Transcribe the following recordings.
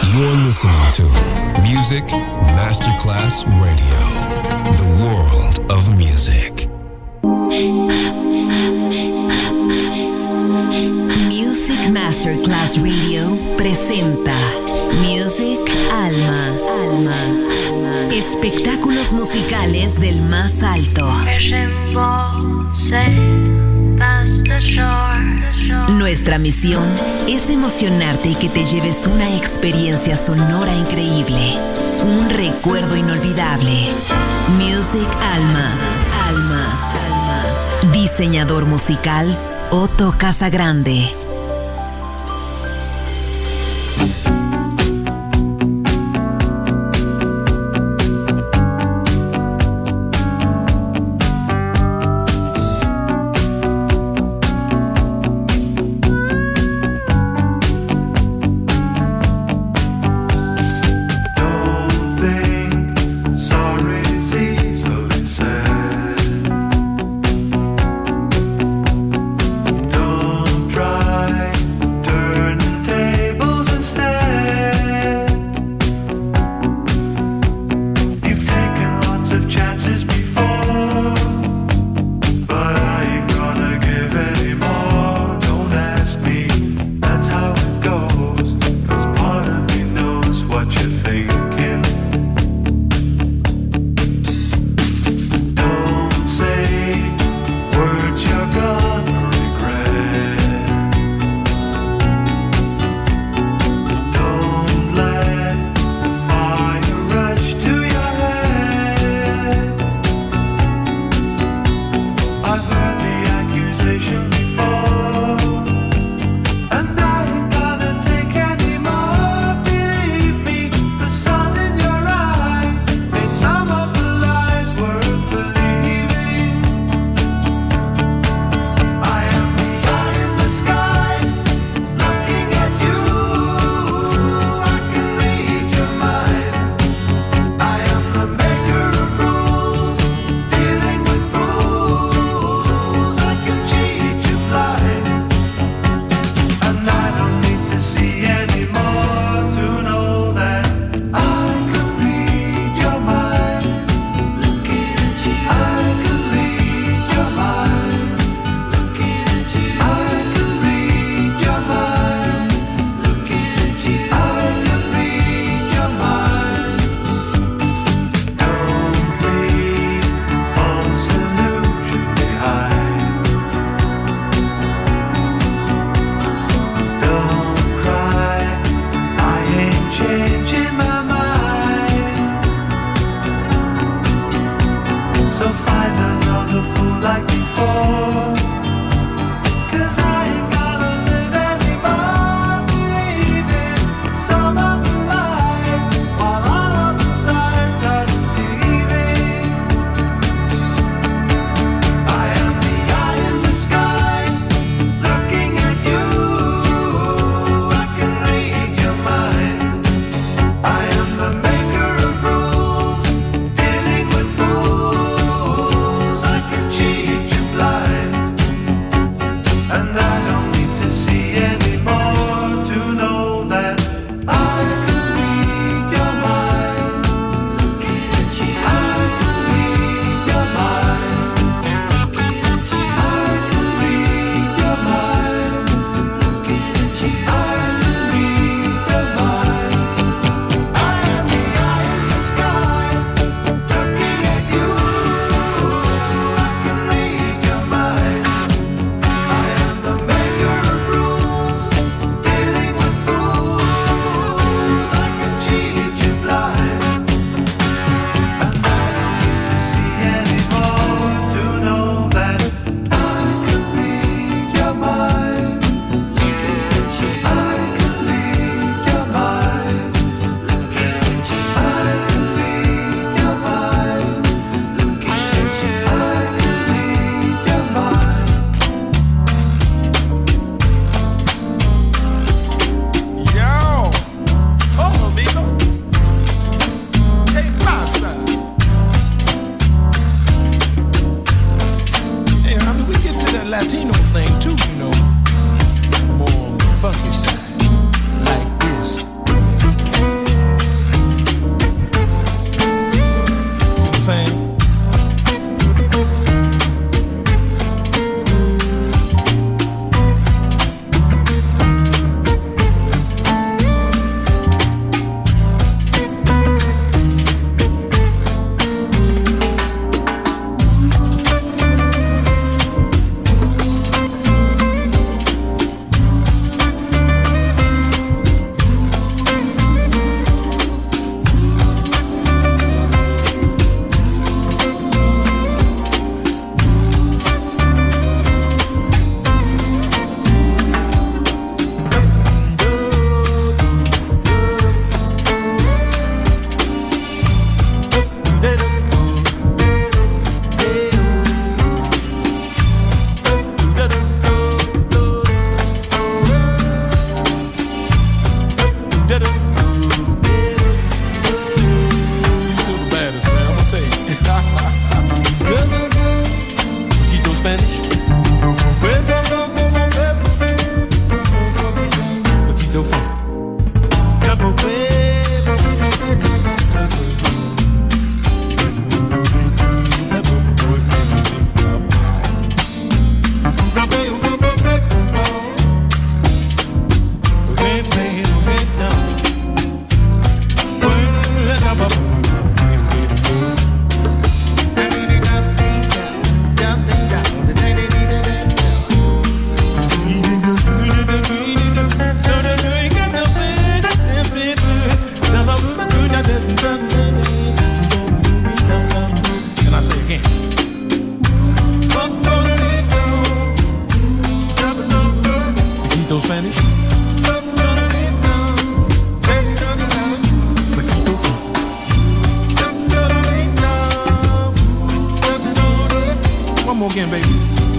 You're listening to Music Masterclass Radio, the world of music. Music Masterclass Radio presenta Music Alma. Espectáculos musicales del más alto. Nuestra misión es emocionarte y que te lleves una experiencia sonora increíble, un recuerdo inolvidable. Music Alma. Diseñador musical Otto Casagrande. Turn tables instead. still the baddest, man. I'm gonna tell you. Quito Spanish. Quito funk. Can I say again? Quito Spanish. Quito funk. One more again, baby.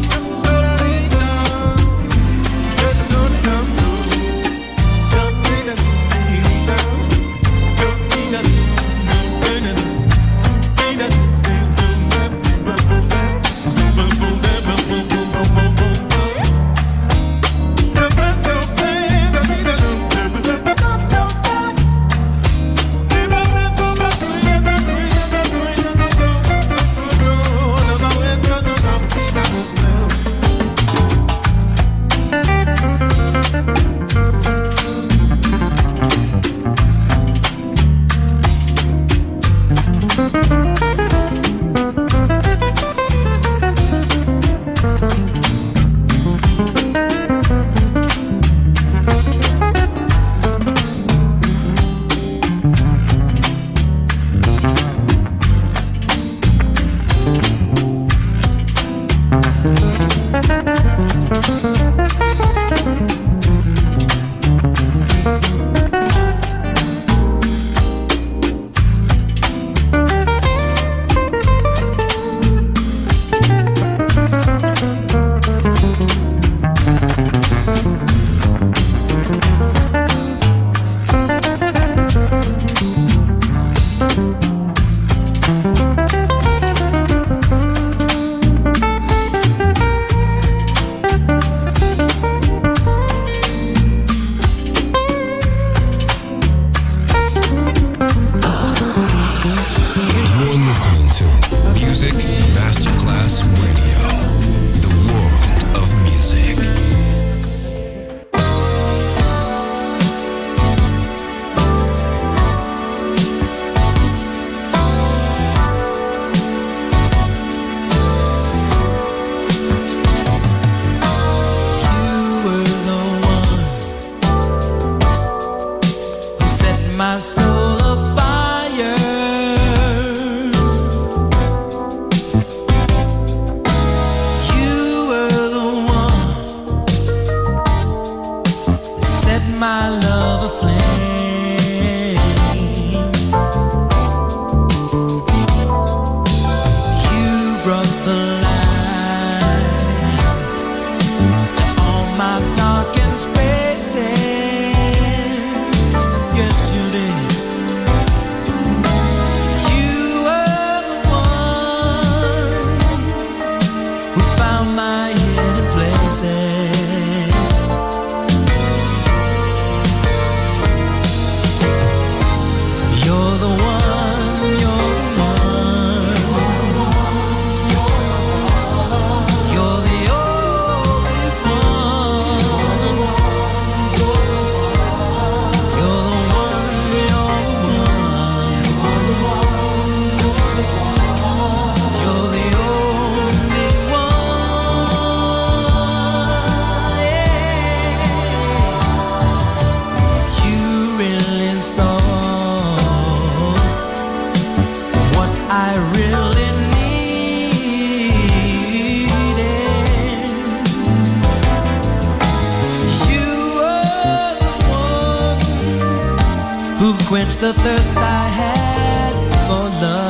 quench the thirst I had for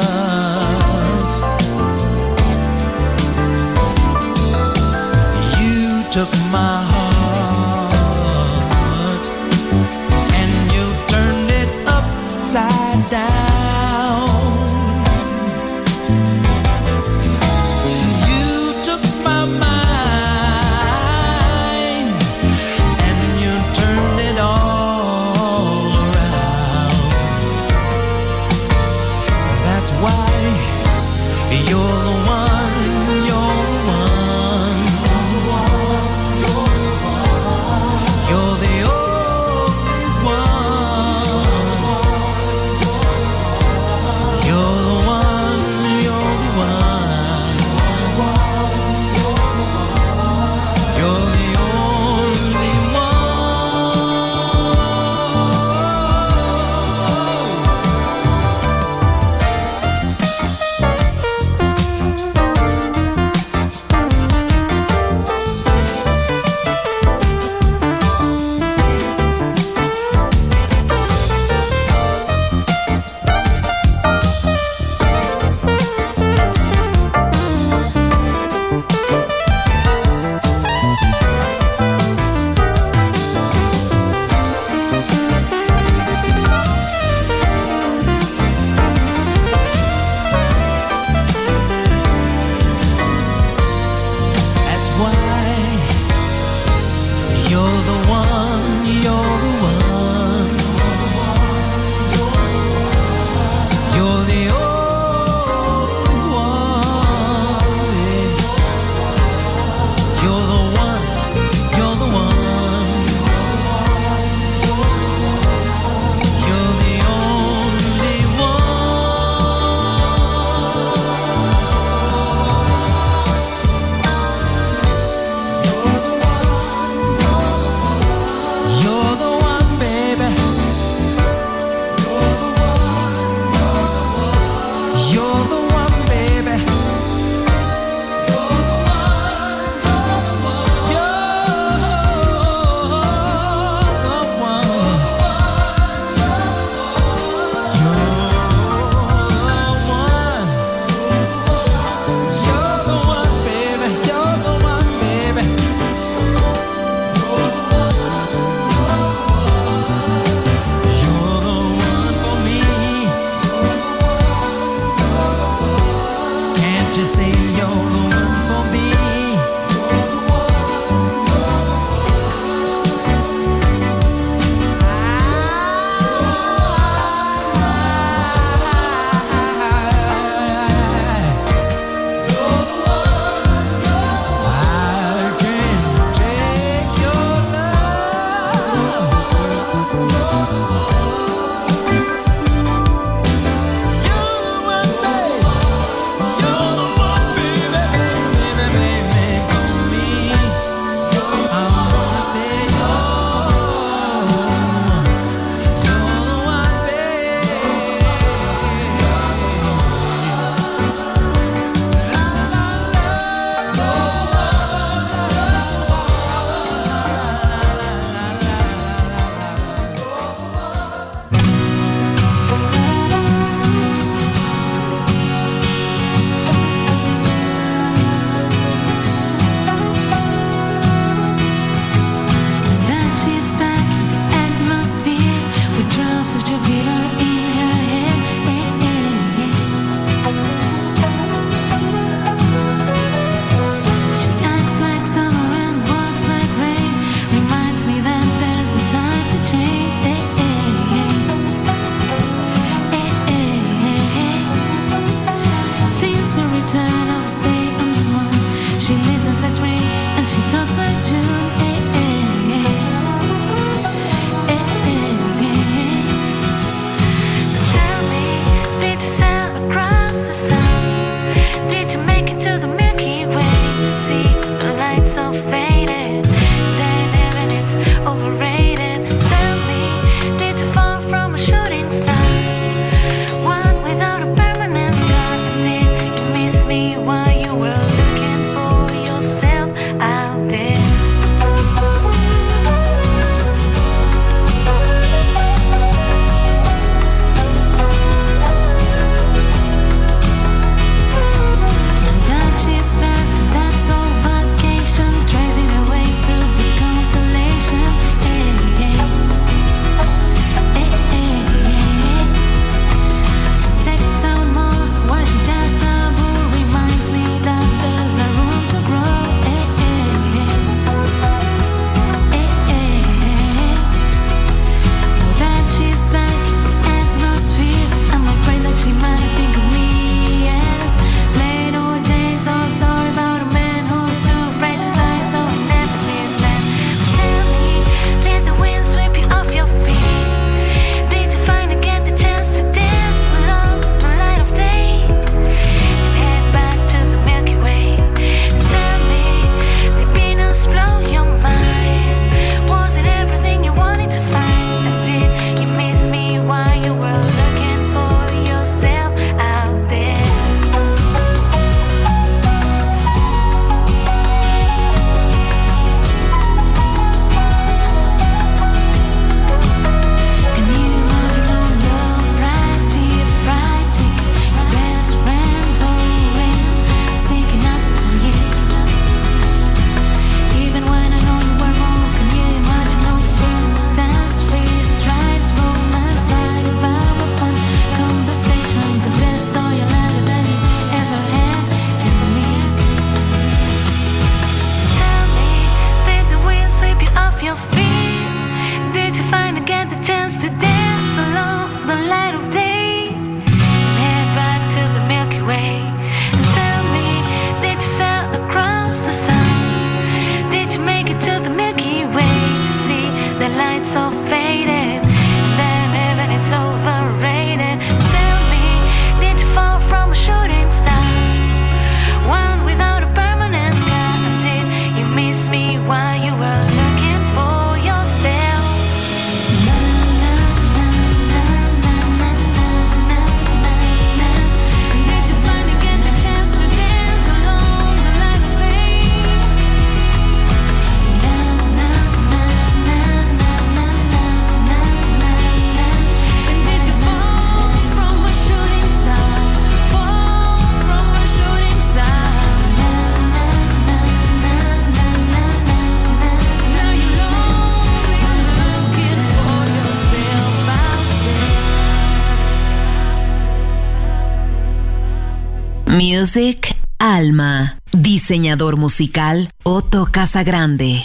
love. You took my heart and you turned Music Alma. Diseñador musical Otto Casagrande.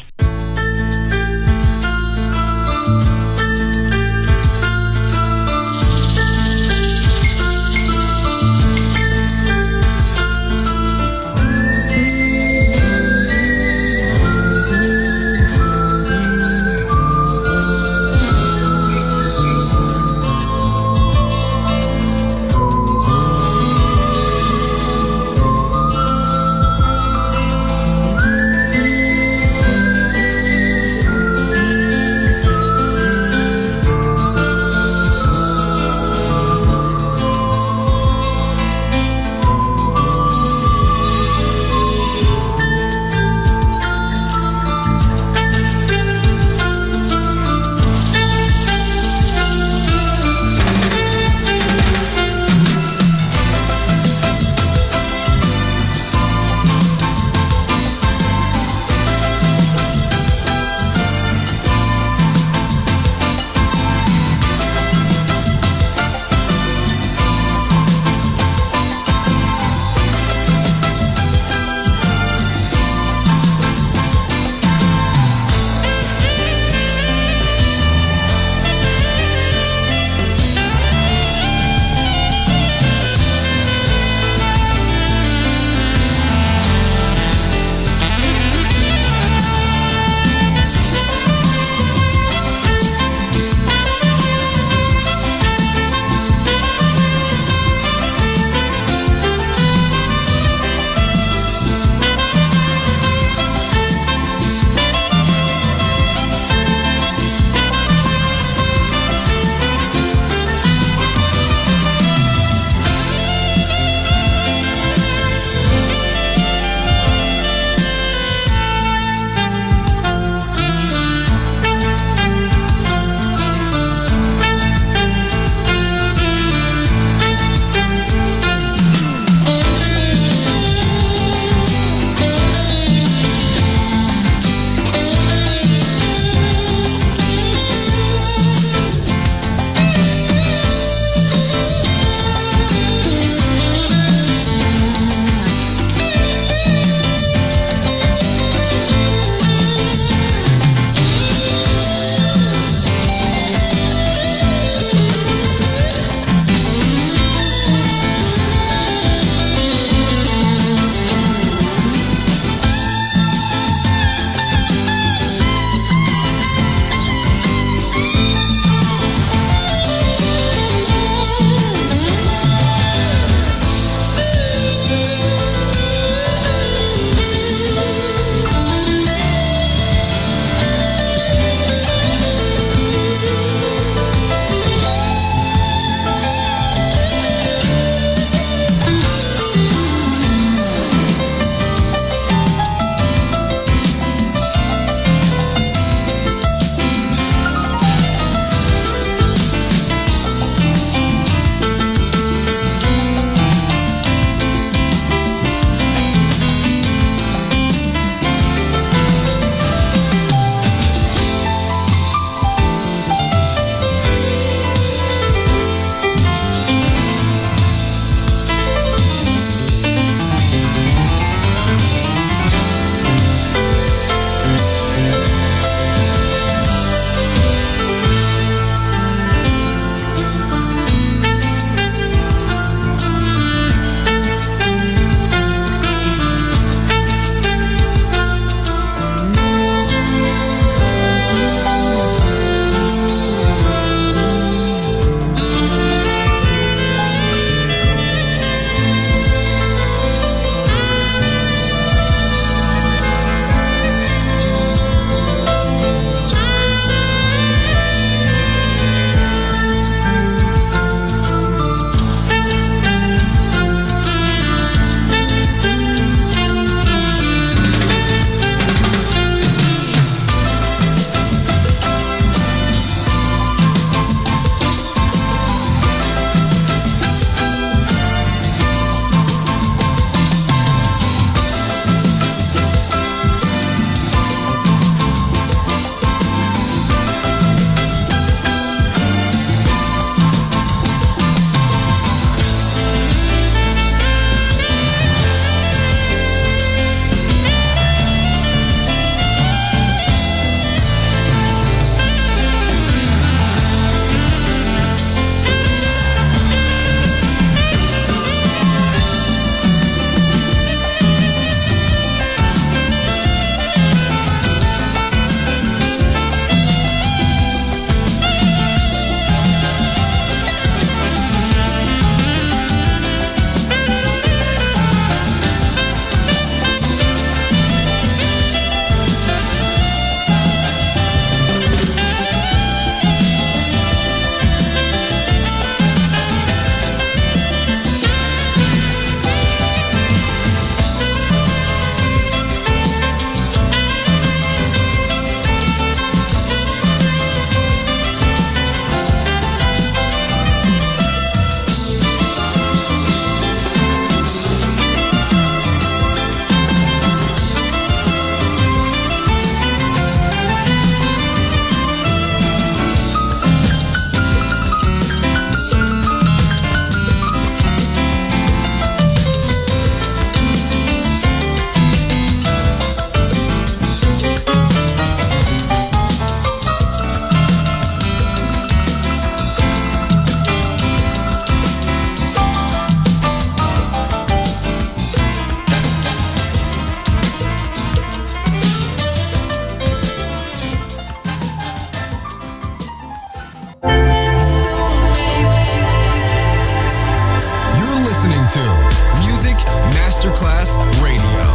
to Music Masterclass Radio.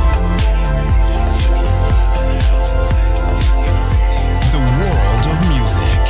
The world of music.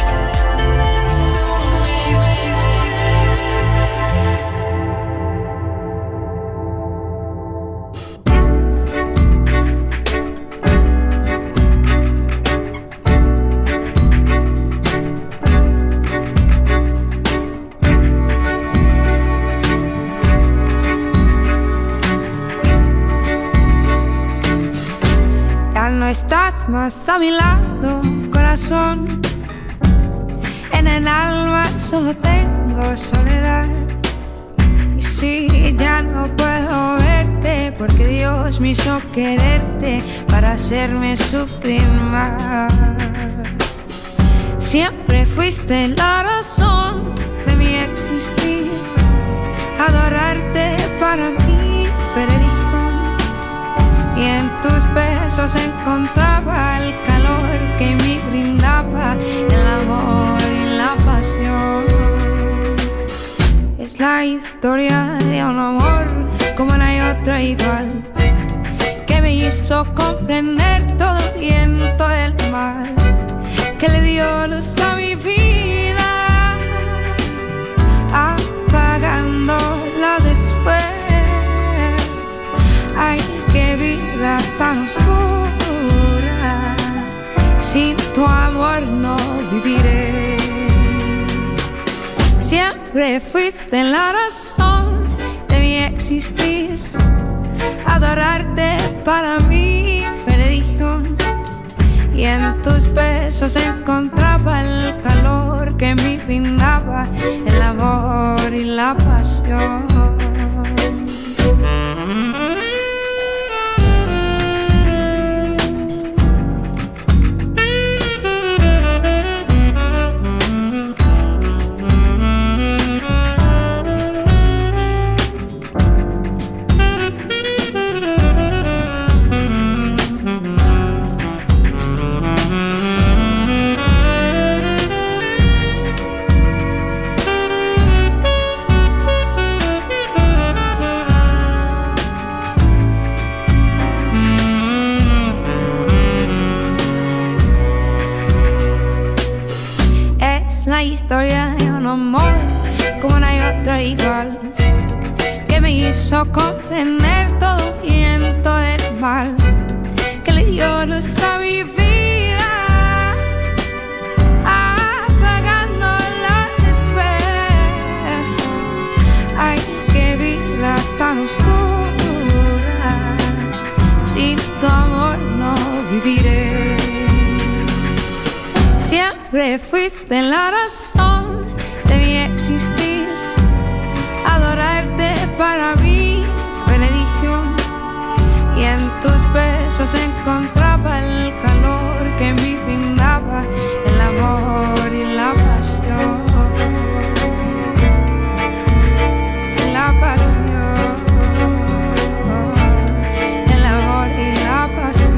Estás más a mi lado, corazón. En el alma solo tengo soledad. Y si ya no puedo verte, porque Dios me hizo quererte para hacerme sufrir más. Siempre fuiste la razón de mi existir. Adorarte para mí fue religión. Y en tus besos encontraba el calor que me brindaba el amor y la pasión. Es la historia de un amor como no hay otra igual, que me hizo comprender todo el bien, todo el mal, que le dio luz a mi vida, apagándola después. Ay, qué vida tan oscura, sin tu amor no viviré. Siempre fuiste la razón de mi existir. Adorarte para mí fue religión. Y en tus besos encontraba el calor que me brindaba el amor y la pasión. La historia de un amor como no hay otra igual, que me hizo comprender todo el bien, todo el mal, que le dio luz a mi vida, apagándola después. Ay, qué vida tan oscura, sin tu amor no viviré. Siempre fuiste la razón de mi existir. Adorarte para mí fue religión. Y en tus besos encontraba el calor que me brindaba el amor y la pasión. La pasión, el amor y la pasión.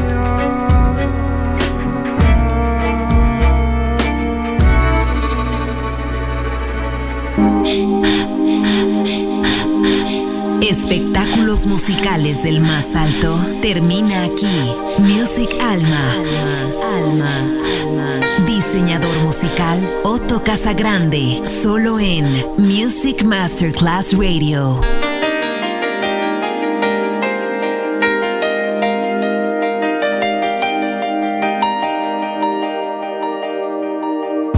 Espectáculos musicales del más alto termina aquí. Music Alma. Diseñador musical Otto Casagrande, solo en Music Masterclass Radio.